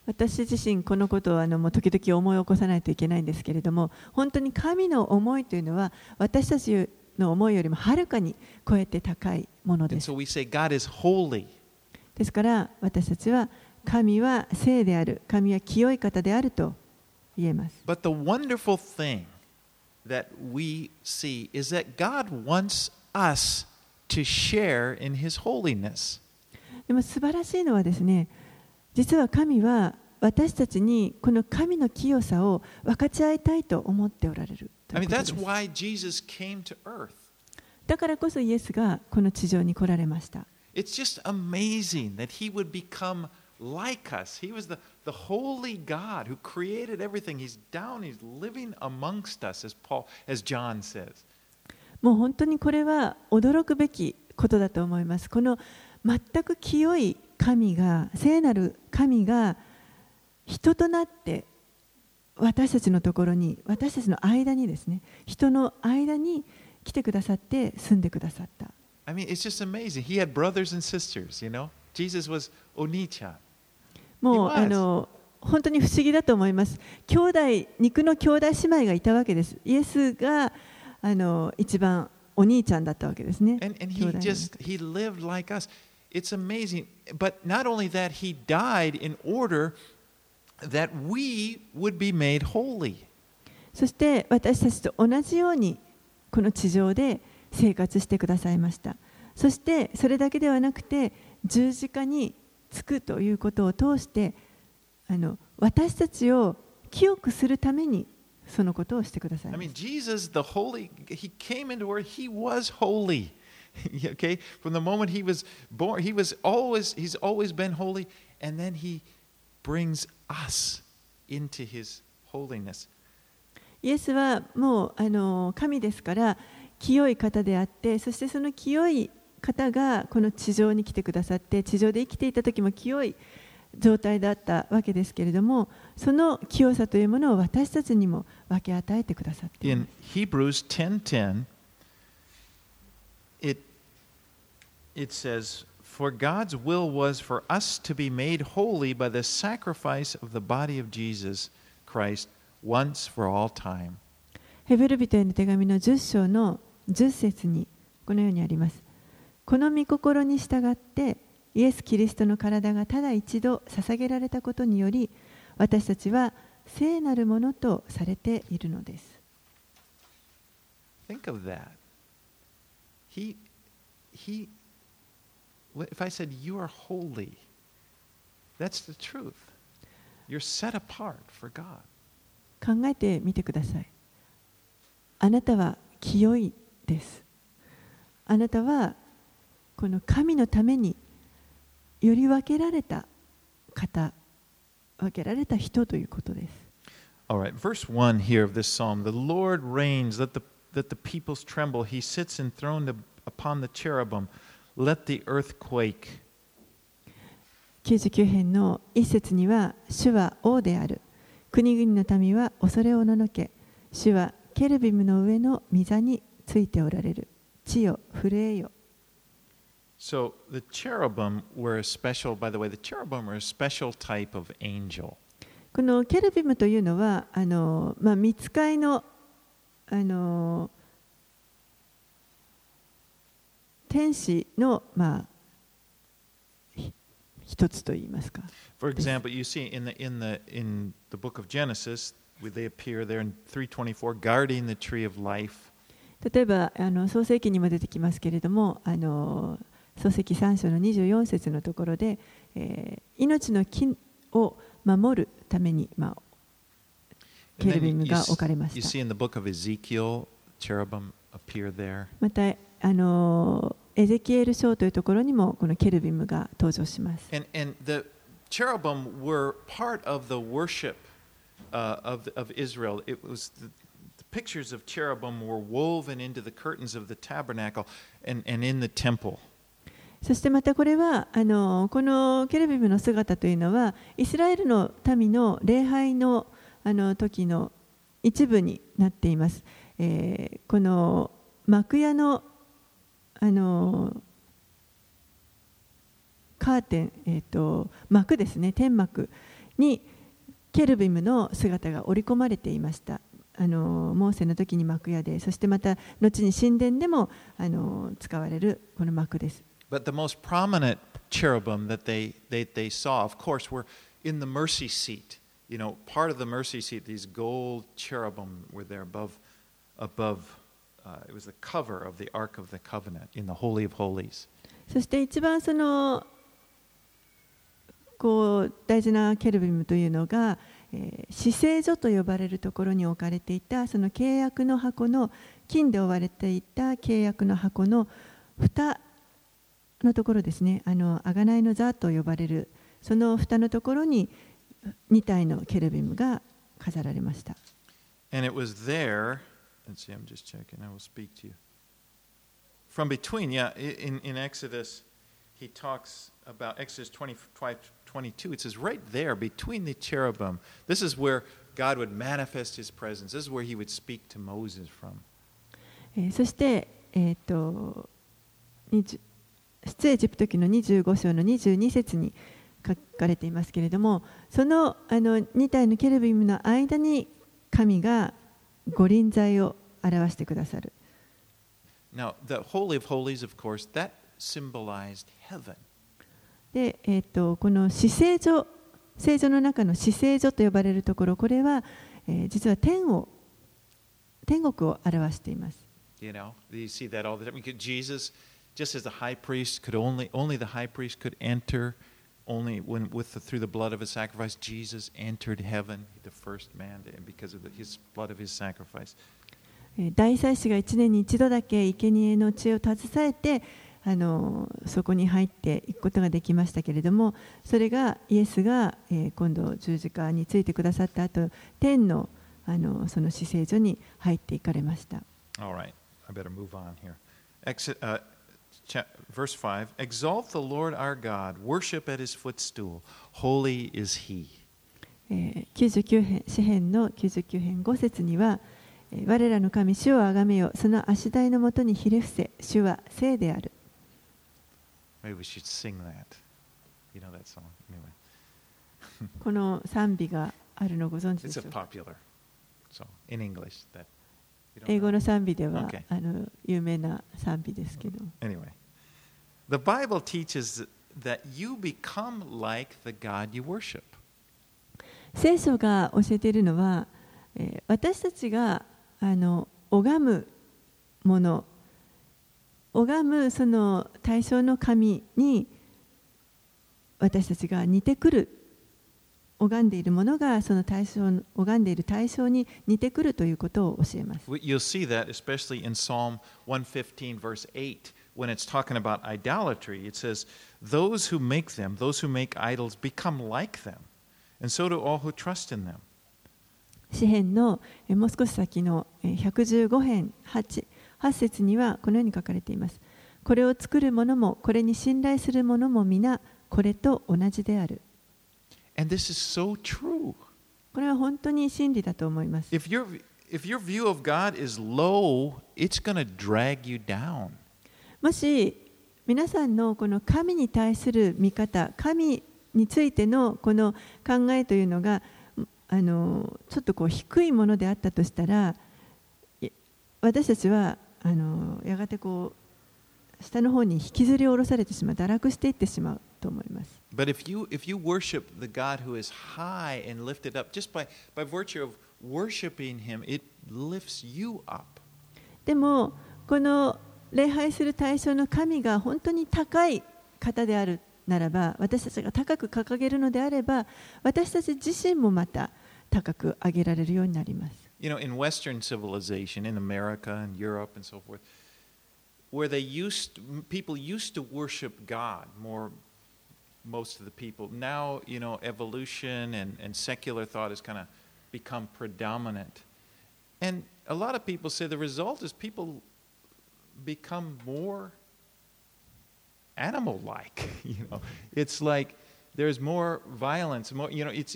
私自身このことをもう時々思い起こさないといけないんですけれども、本当に神の思いというのは私たちの思いよりもはるかに超えて高いものです。 And so we say God is holy. ですから私たちは神は聖である、神は清い方であると言えます。 But the wonderful thing that we see is that God wants us to share in His holiness. でも素晴らしいのはですね、実は神は私たちにこの神の清さを分かち合いたいと思っておられるということです。 that's why Jesus came to earth. だからこそイエスがこの地上に来られました。 It's just amazing that He would become like us. He was the holy God who created everything. He's down, He's living amongst us, as John says. もう本当にこれは驚くべきことだと思います。この全く清い神が、聖なる神が人となって私たちのところに、私たちの間にですね、人の間に来てくださって住んでくださった。 I mean, it's just amazing. He had brothers and sisters, you know. Jesus was Oni-chan. もう本当に不思議だと思います。肉の兄弟姉妹がいたわけです。イエスが一番お兄ちゃんだったわけですね。 And he lived like us. It's amazing. But not only that, he died in order that we would be made holy. そして私たちと同じようにこの地上で生活してくださいました。そしてそれだけではなくて十字架につくということを通して私たちを清くするためにそのことをしてください。 I mean, Jesus, the holy, he came into earth, he was holy. Okay? From the moment he was born, he's always been holy, and then he brings us into his holiness. イエスはもう神ですから清い方であって、そしてその清い方がこの地上に来てくださって、地上で生きていた時も清い状態だったわけですけれども、その清さというものを私たちにも分け与えてくださっています。 In Hebrews 10:10, it says, "For God's will was for us to be made holy by the sacrifice of the body of Jesus Christ once for all time." ヘブル人への手紙の10章の10節にこのようにあります。この御心に従ってイエス・キリストの体がただ一度捧げられたことにより、私たちは聖なるものとされているのです。 Think of that. If I said, "You are holy," that's the truth. You're set apart for God. 考えてみてください。あなたは清いです。あなたはこの神のためにより分けられた方、分けられた人ということです。 All right, verse 1 here of this psalm. The Lord reigns, let the peoples tremble. He sits enthroned upon the cherubim. Let the earth quake. 99編の一節には、主は王である。国々の民は恐れおののけ。主はケルビムの上の御座についておられる。地よ、震えよ。 So the cherubim were a special, by the way, the cherubim were a special type of angel. このケルビムというのは、御使いの、天使の、一つといいますか。 For example, you see in the book of Genesis, they appear there in 3:24, guarding the tree of life. 例えば創世記にも出てきますけれども、創世記3章の24節のところで、命の木を守るために、ケルビムが置かれました。 You see in the book of Ezekiel, cherubim appear there. またエゼキエル書というところにもこのケルビムが登場します。 And the cherubim were part of the worship of Israel. It was the pictures of cherubim were woven into the curtains of the tabernacle and in the temple. そしてまたこれはこのケルビムの姿というのはイスラエルの民の礼拝の時の一部になっています。この幕屋のカーテン、幕ですね、天幕にケルビムの姿が織り込まれていました。モーセの時に幕屋で、そしてまた後に神殿でも使われるこの幕です。 But the most prominent cherubim that they saw, of course, were in the mercy seat. You know, part of the mercy seat, these gold cherubim were there above. It was the cover of the Ark of the Covenant in the Holy of Holies. そして一番大事なケルビムというのが、至聖所と呼ばれるところに置かれていたその契約の箱の金で覆われていた契約の箱の蓋のところですね。贖いの座と呼ばれるその蓋のところに2体のケルビムが飾られました。 And it was there. Let's see, I'm just checking. I will speak to you. From between, yeah, in Exodus, he talks about Exodus 22. It says right there, between the cherubim, this is where God would manifest his presence. This is where he would speak to Moses from. そして、出エジプト記の25章の22節に書かれていますけれども、その2体のケルビムの間に神が御臨在を表してくださる。 Now, the Holy of Holies, of course, that symbolized heaven. で、この至聖所、聖所の中の至聖所と呼ばれるところ、これは、実は天国を表しています。 You know, you see that all the time. Jesus, just as the high priest could only the high priest could enter, only through the blood of his sacrifice, Jesus entered heaven, the first man, because of his blood of his sacrifice. 大祭司が1年に一度だけ生贄の血を携えてそこに入っていくことができましたけれども、それがイエスが、今度十字架についてくださった後、天のその至聖所に入っていかれました。 All right, I better move on here. Verse 5, Exalt the Lord our God, worship at his footstool, holy is he. 99編、詩編の99編5節には、我らの神、主をあがめよ、その足台のもとにひれ伏せ、主は聖である。 Maybe we should sing that. You know that song? Anyway. この賛美があるのをご存知でしょうか。 It's a popular song in English. 英語の賛美では、 Okay. 有名な賛美ですけど。 Anyway, the Bible teaches that you become like the God you worship. 聖書が教えているのは、私たちが拝むもの、拝むその対象の神に私たちが似てくる、拝んでいるものがその対象、拝んでいる対象に似てくるということを教えます。 You'll see that especially in Psalm 115 verse 8 when it's talking about idolatry. It says, those who make idols become like them, and so do all who trust in them. 詩編のもう少し先の115編 8節にはこのように書かれています。これを作る者もこれに信頼する者も皆これと同じである。 And this is so true. これは本当に真理だと思います。 If your view of God is low, it's going to drag you down. もし皆さんのこの神に対する見方、神についてのこの考えというのがちょっと低いものであったとしたら、私たちはやがて下の方に引きずり下ろされてしまう、堕落していってしまうと思います。 But if you worship the God who is high and lifted up, just by virtue of worshiping him, it lifts you up. でもこの礼拝する対象の神が本当に高い方であるならば、私たちが高く掲げるのであれば、私たち自身もまた高く上げられるようになります。 You know, in Western civilization, in America and Europe and so forth, where people used to worship God more, most of the people. Now, you know, evolution and secular thought has kind of become predominant. And a lot of people say the result is people become more animal-like. You know, it's like there's more violence, more, you know, it's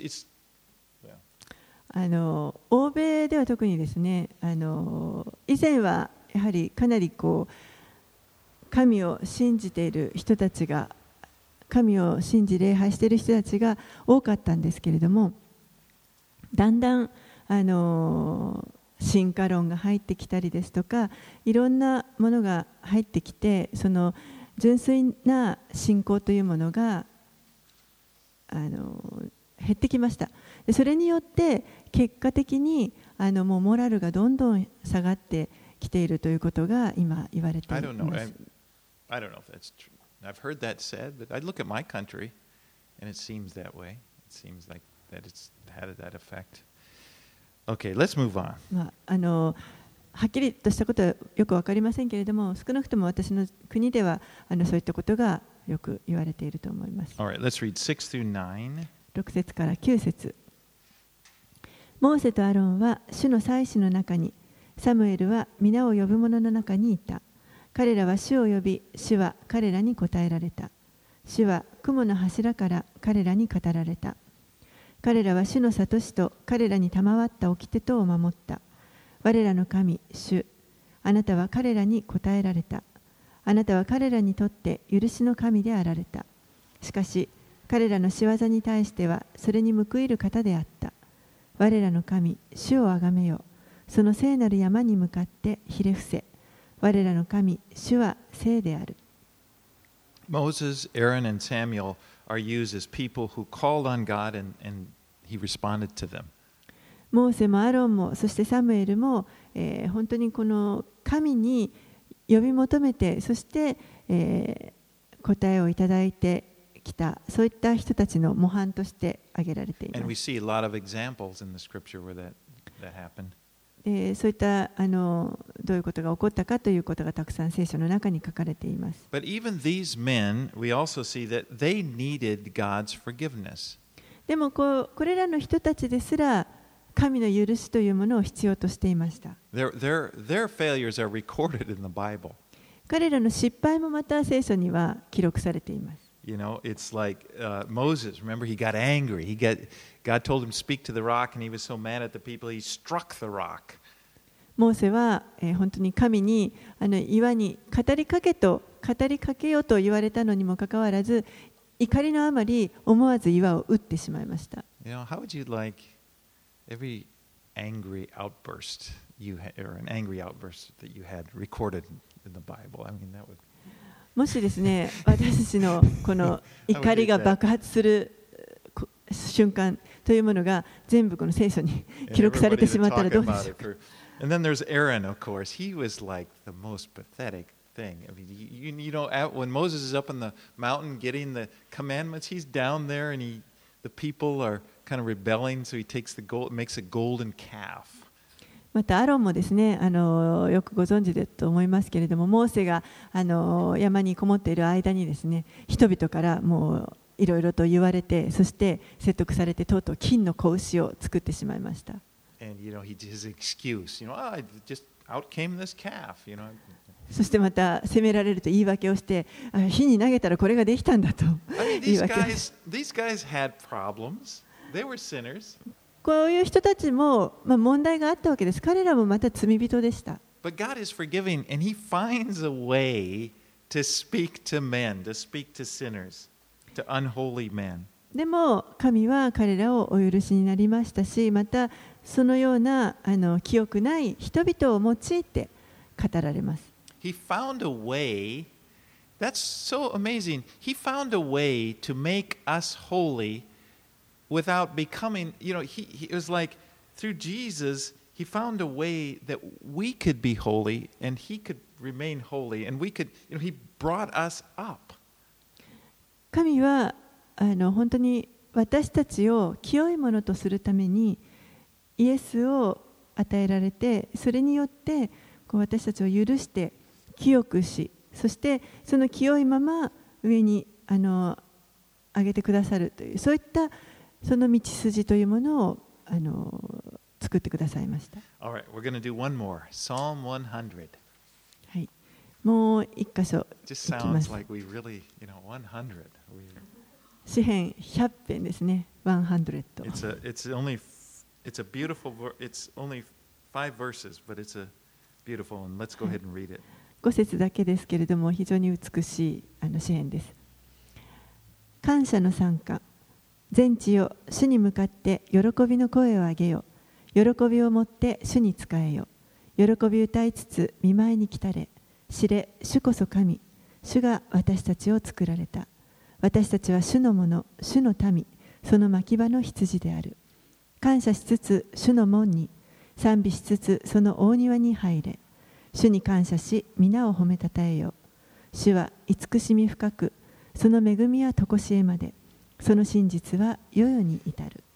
欧米では特にですね、以前はやはりかなり神を信じている人たちが神を信じ礼拝している人たちが多かったんですけれども、だんだん進化論が入ってきたりですとか、いろんなものが入ってきて、その純粋な信仰というものが減ってきました。でそれによって結果的にもうモラルがどんどん下がってきているということが今言われています。 I don't know if that's true. I've heard that said, but I look at my country and it seems that way. It seems like that it's had that effect. Okay, let's move on. はっきりとしたことはよくわかりませんけれども、少なくとも私の国ではそういったことがよく言われていると思います。 All right, let's read 6 through 9. 6節から9節。モーセとアロンは主の祭司の中に、サムエルは皆を呼ぶ者の中にいた。彼らは主を呼び、主は彼らに答えられた。主は雲の柱から彼らに語られた。彼らは主の諭しと彼らに賜った掟とを守った。我らの神、主、あなたは彼らに答えられた。あなたは彼らにとって許しの神であられた。しかし、彼らの仕業に対してはそれに報いる方であった。我らの神、主をあがめよ。その聖なる山に向かってひれ伏せ。我らの神、主は聖である。 Moses, Aaron, and Samuel are used as people who called on God and he responded to them. モーセもアロンもそしてサムエルも、本当にこの神に呼び求めて、そして、答えをいただいてきた、そういった人たちの模範として挙げられています。 And we see a lot of examples in the scripture where that happened. そういったどういうことが起こったかということがたくさん聖書の中に書かれています。 But even these men, we also see that they needed God's forgiveness. でもこれらの人たちですら神の許しというものを必要としていました。 Their failures are recorded in the Bible. 彼らの失敗もまた聖書には記録されています。 You know, it's like Moses. Remember, he got angry. God told him to speak to the rock, and he was so mad at the people, he struck the rock. モーセは、本当に神に岩に語りかけようと言われたのにもかかわらず、怒りのあまり思わず岩を打ってしまいました。 You know, how would you like every angry outburst or an angry outburst that you had recorded in the Bible? I mean, that would. もしですね、私たちのこの怒りが爆発する瞬間というものが全部この聖書に記録されてしまったらどうでしょうか。 And then there's Aaron, of course. He was like the most pathetic thing. I mean, you know, when Moses is up on the mountain getting the commandments, he's down there and the people are kind of rebelling, so he makes a golden calf. またアロンもですね、よくご存知だと思いますけれども、モーセが山にこもっている間にですね、人々からもういろいろと言われて、そして説得されて、とうとう金の子牛を作ってしまいました。 And you know, his excuse, you know, I just out came this calf, you know. そしてまた責められると言い訳をして、火に投げたらこれができたんだと言い訳。 These guys had problems. They were sinners. こういう人たちも、問題があったわけです。彼らもまた罪人でした。 But God is forgiving, and He finds a way to speak to men, to speak to sinners, to unholy men. でも神は彼らをお許しになりましたし、またそのような清くない人々を用いて語られます。 He found a way. That's so amazing. He found a way to make us holy without becoming, you know, it was like through Jesus, He found a way that we could be holy and He could remain holy and we could, you know, He brought us up. 神は本当に私たちを清いものとするためにイエスを与えられて、それによって私たちを許して清くし、そしてその清いまま上に上げてくださるという、そういったその道筋というものを作ってくださいました。 All right, we're going to do one more. Psalm 100. はい、もう一箇所い Just きま sounds す。 like we really, you know, 100. 詩編100編ですね。100。 It's a beautiful. It's only 5 verses, but it's a beautiful one. Let's go ahead and read it. 5節だけですけれども、非常に美しい詩編です。 感謝の賛歌。全地よ、主に向かって喜びの声を上げよ。喜びをもって主に仕えよ。喜び歌いつつ見舞いに来たれ。知れ、主こそ神。主が私たちを作られた。私たちは主のもの、主の民、その牧場の羊である。感謝しつつ主の門に、賛美しつつその大庭に入れ。主に感謝し、皆を褒めたたえよ。主は慈しみ深く、その恵みはとこしえまで。その真実は世々に至る。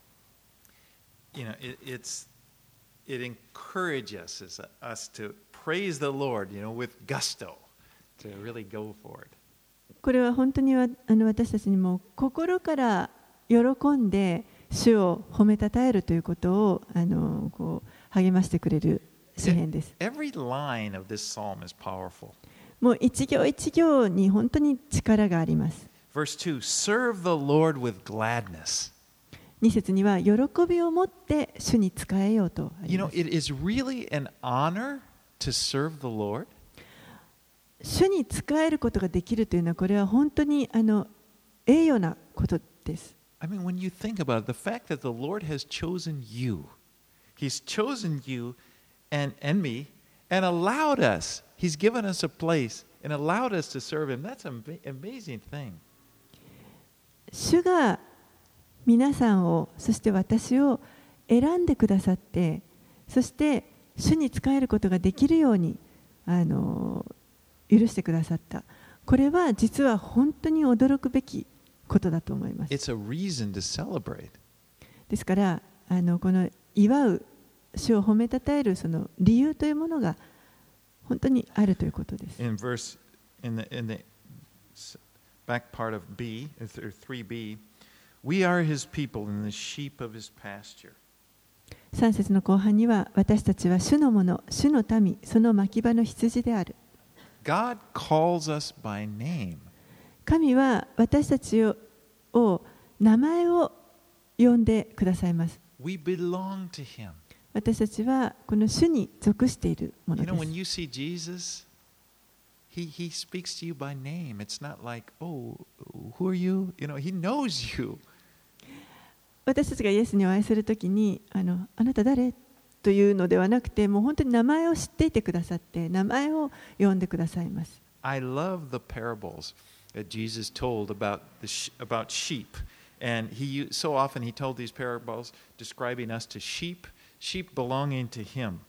It encourages us to praise the Lord, with gusto, to really go for it. これは本当に私たちにも心から喜んで主を褒めたたえるということをこう励ましてくれる詩篇です。 Every line of this psalm is powerful. もう一行一行に本当に力があります。 Verse 2, serve the Lord with gladness. 2節には喜びを持って主に仕えようとあります。 It is really an honor to serve the Lord. 主に仕えることができるというのはこれは本当に栄誉なことです。 I mean, when you think about it, the fact that the Lord has chosen you, He's chosen you and me and allowed us, He's given us a place and allowed us to serve Him. That's an amazing thing. 主が皆さんを、そして私を選んでくださって、そして主に仕えることができるように許してくださった。これは実は本当に驚くべきことだと思います。 It's a reason to celebrate. ですからこの祝う、主を褒めたたえるその理由というものが本当にあるということです。 In the back part of B, or 3b, we are His people and the sheep of His pasture. 3節の後半には、私たちは主のもの、主の民、その牧場の羊である。 God calls us by name. 神は私たちを名前を呼んでくださいます。 We belong to Him. 私たちはこの主に属しているものです。 When you see Jesus, He speaks to you by name. It's not like, oh, who are you? He knows you. 私たちがイエスにお会いするときに、あなた誰というのではなくて、もう本当に名前を知っていてくださって、名前を呼んでくださいます。 I love the parables that Jesus told about sheep. And so often he told these parables describing us to sheep belonging to Him.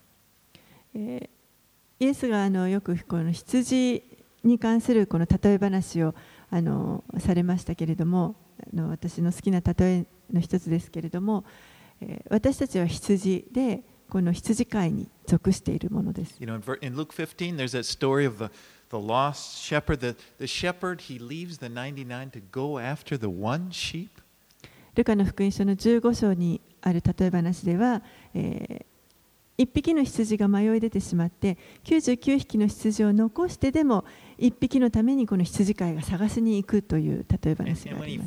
イエスがよくこの羊に関するこの例え話をされましたけれども、私の好きな例えの一つですけれども、私たちは羊でこの羊飼いに属しているものです。 In Luke 15, there's that story of the lost shepherd. The shepherd, he leaves the 99 to go after the one sheep. ルカの福音書の15章にある例え話では、1匹の羊が迷い出てしまって99匹の羊を残してでも1匹のためにこの羊飼いが探しに行くという例え話があります。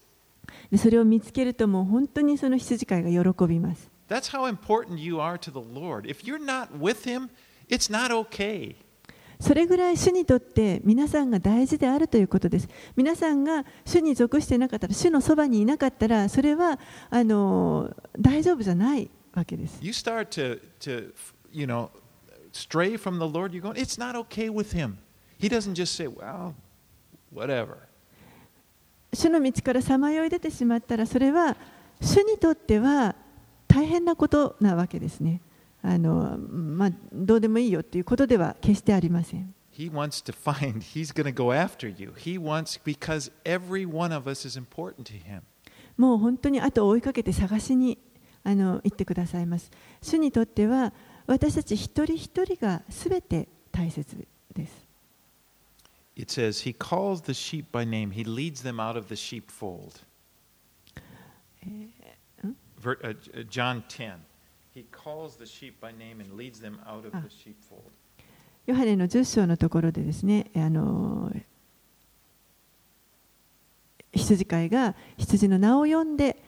でそれを見つけるともう本当にその羊飼いが喜びます。 That's how important you are to the Lord. If you're not with Him, it's not okay. それぐらい主にとって皆さんが大事であるということです。皆さんが主に属していなかったら、主のそばにいなかったら、それは大丈夫じゃないわけです。 You start to stray from the Lord, you're going, it's not okay with Him. He doesn't just say, well, whatever. 主の道からさまよい出てしまったら、それは主にとっては大変なことなわけですね。どうでもいいよということでは決してありません。 He wants to find, He's going to go after you. He wants, because every one of us is important to Him. もう本当に後を追いかけて探しに行ってくださいます。主にとっては私たち一人一人がすべて大切です。 It says, He calls the sheep by name. He leads them out of the sheepfold. John 10.He calls the sheep by name and leads them out of the sheepfold. ヨハネの10章のところでですね、羊飼いが羊の名を呼んで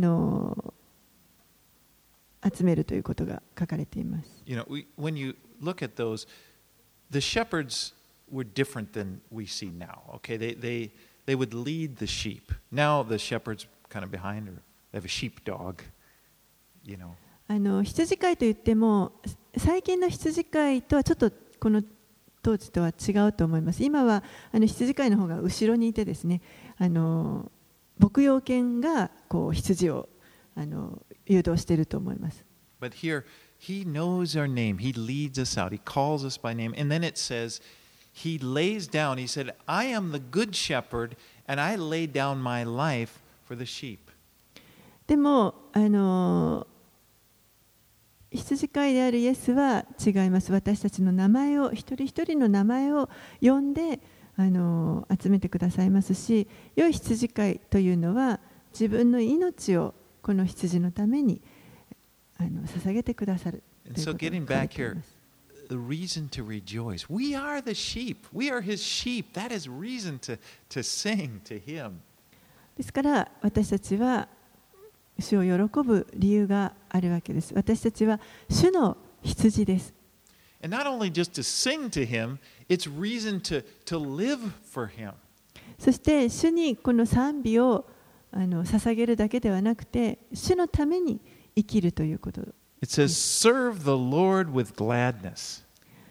集めるということが書かれています。 When you look at those, the shepherds were different than we see now. Okay, they would lead the sheep. Now the shepherd's kind of behind, or they have a sheepdog, you know. 羊飼いといっても最近の羊飼いとはちょっとこの当時とは違うと思います。今は羊飼いの方が後ろにいてですね、牧羊犬がこう羊を誘導していると思います。 But here, he knows our name. He leads us out. He calls us by name. And then it says, he lays down. He said, I am the good shepherd, and I lay down my life for the sheep. でも羊飼いであるイエスは違います。私たちの名前を、一人一人の名前を呼んで集めてくださいますし、良い羊飼いというのは自分の命をこの羊のために捧げてくださるということが書かれています。 The reason to rejoice. We are the sheep. We are his sheep. That is reason to sing to him. ですから私たちは主を喜ぶ理由があるわけです。私たちは主の羊です。 And not only just to sing to him, it's reason to live for him. そして主にこの賛美を捧げるだけではなくて、主のために生きるということ。 It says, serve the Lord with gladness.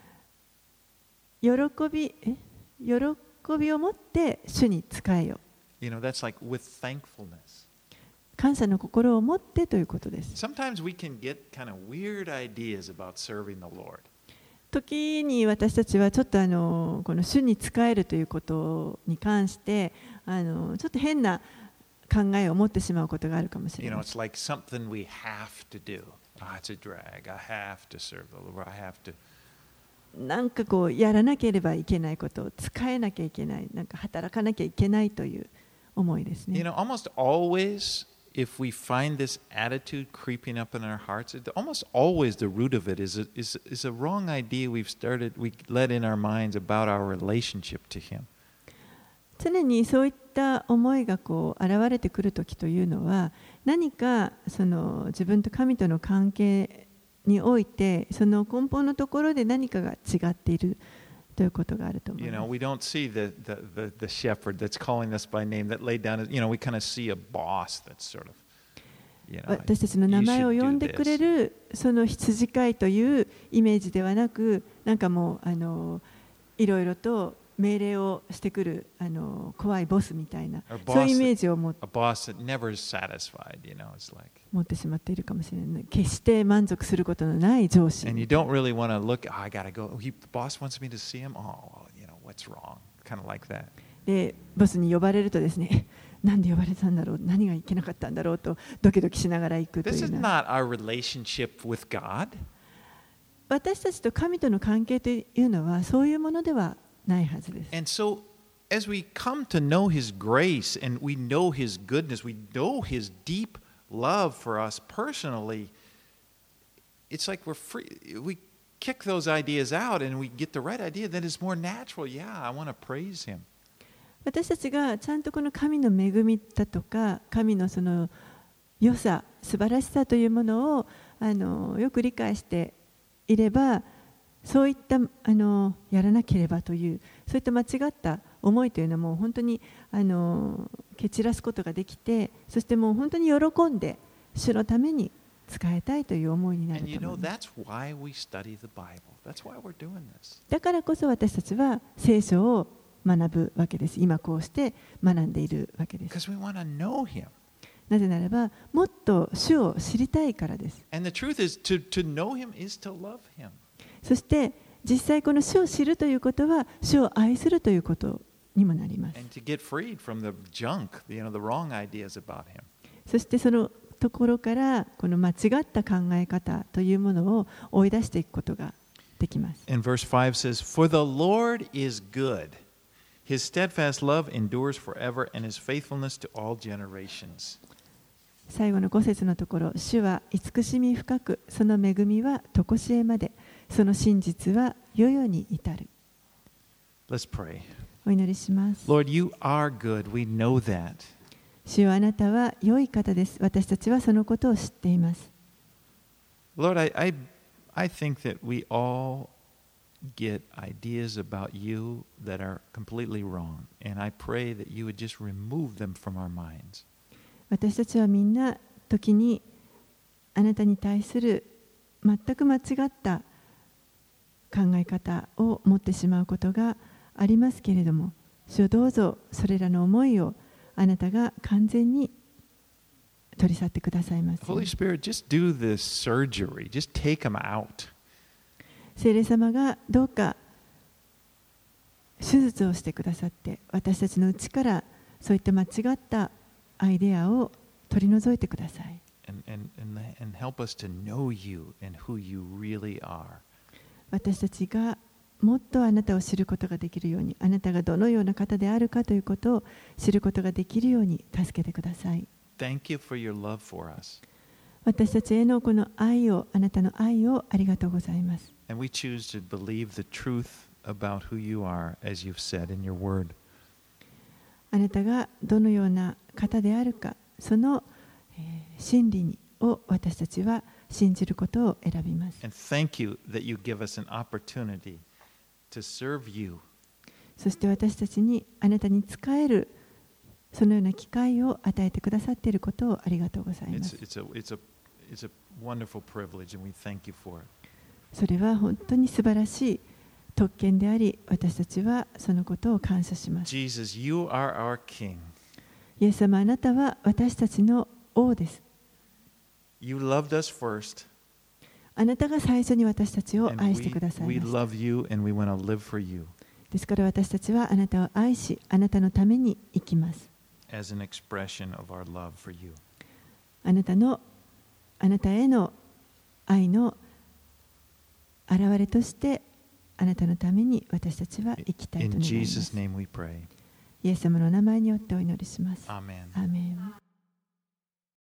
喜びを持って主に仕えよ。 You know, that's like with thankfulness. 感謝の心を持ってということです。 Sometimes we can get kind of weird ideas about serving the Lord. 時に私たちはちょっとこの主に仕えるということに関してちょっと変な考えを持ってしまうことがあるかもしれ You な know, い。 it's like something we have to do. It's a drag. I have to serve the Lord. I have to. なんかこうやらなければいけないことを使えなきゃいけない、なんか働かなきゃいけないという思いですね。 You know, almost always, if we find this attitude creeping up in our hearts, almost always the root of it is a wrong idea we let in our minds about our relationship to Him. 常にそういった思いがこう現れてくるときというのは、何かその自分と神との関係において、その根本のところで何かが違っているということがあると思い You ま know, す。 we don't see the shepherd that's calling us by name that laid down. You know, we kind of see a boss that's sort of. You know, 私たちの名前を you should 呼 do んでくれ this. るその羊飼いというイメージではなく、なんかもういろいろと命令をしてくる怖いボスみたいな、 Or そういうイ boss メージを a boss that never is satisfied. You know, it's like. 持ってしまっているかもしれない。決して満足することのない上司。 And you don't really want to look. Oh, I gotta go. The boss wants me to see him. Oh, you know what's wrong? Kind of like that. でボスに呼ばれるとですね、なんで呼ばれたんだろう、何がいけなかったんだろうとドキドキしながら行くと This い is うな。 not our relationship with God. 私たちと神との関係というのはそういうものではないはずです。 And so, as we come to know His grace and we know His goodness, we know His deep love for us personally, it's like we're free. We kick those ideas out and we get the right idea that is more natural. Yeah, I want to praise Him. 私たちがちゃんとこの神の恵みだとか神のその良さ素晴らしさというものをよく理解していれば、そういったやらなければというそういった間違った思いというのはもう本当に蹴散らすことができて、そしてもう本当に喜んで主のために使いたいという思いになる And you と know, 思います。 that's why we study the Bible. That's why we're doing this. だからこそ私たちは聖書を学ぶわけです。今こうして学んでいるわけです。 Because we want to know Him. なぜならばもっと主を知りたいからです。 And the truth is, to know Him is to love Him. そして実際この主を知るということは主を愛するということにもなります。 And to get freed from the junk, the wrong ideas about Him. そしてそのところからこの間違った考え方というものを追い出していくことができます。 And verse 5 says, For the Lord is good. His steadfast love endures forever, and His faithfulness to all generations. 最後の5節のところ、主は慈しみ深く、その恵みは常しえまで、その真実は世々に至る。 Let's pray. お祈りします。 Lord, you are good. We know that. 主よ、あなたは良い方です。私たちはそのことを知っています。 Lord, I think that we all get ideas about you that are completely wrong. And I pray that you would just remove them from our minds. 私たちはみんな時にあなたに対する全く間違った考え方を持ってしまうことがありますけれども、主よどうぞそれらの思いをあなたが完全に取り去ってくださいます。 Holy Spirit, just do this surgery. Just take them out. 聖霊様がどうか手術をしてくださって、私たちのうちからそういった間違ったアイデアを取り除いてください。 And help us to know you and who you really are. 私たちがもっとあなたを知ることができるように、あなたがどのような方であるかということを知ることができるように助けてください。 Thank you for your love for us. 私たちへのこの愛を、あなたの愛をありがとうございます。 And we choose to believe the truth about who you are, as you've said in your word. あなたがどのような方であるか、その真理を私たちは信じることを選びます。 And thank you that you give us an opportunity to serve you. そして私たちにあなたに仕えるそのような機会を与えてくださっていることをありがとうございます。 It's a wonderful privilege, and we thank you for it. それは本当に素晴らしい特権であり、私たちはそのことを感謝します。 Jesus, you are our King. イエス様、あなたは私たちの王です。 You loved us first. あなたが最初に私たちを And 愛してください we ました。 love you, and we want to live for you ですから私たちはあなたを愛し、あなたのために生きます。 as an expression of our love for you. あなたへの愛の現れとしてあなたのために私たちは生きたいと In 願いま Jesus' す。 name we pray. イエス様の名前によってお祈りします。 Amen. アーメン。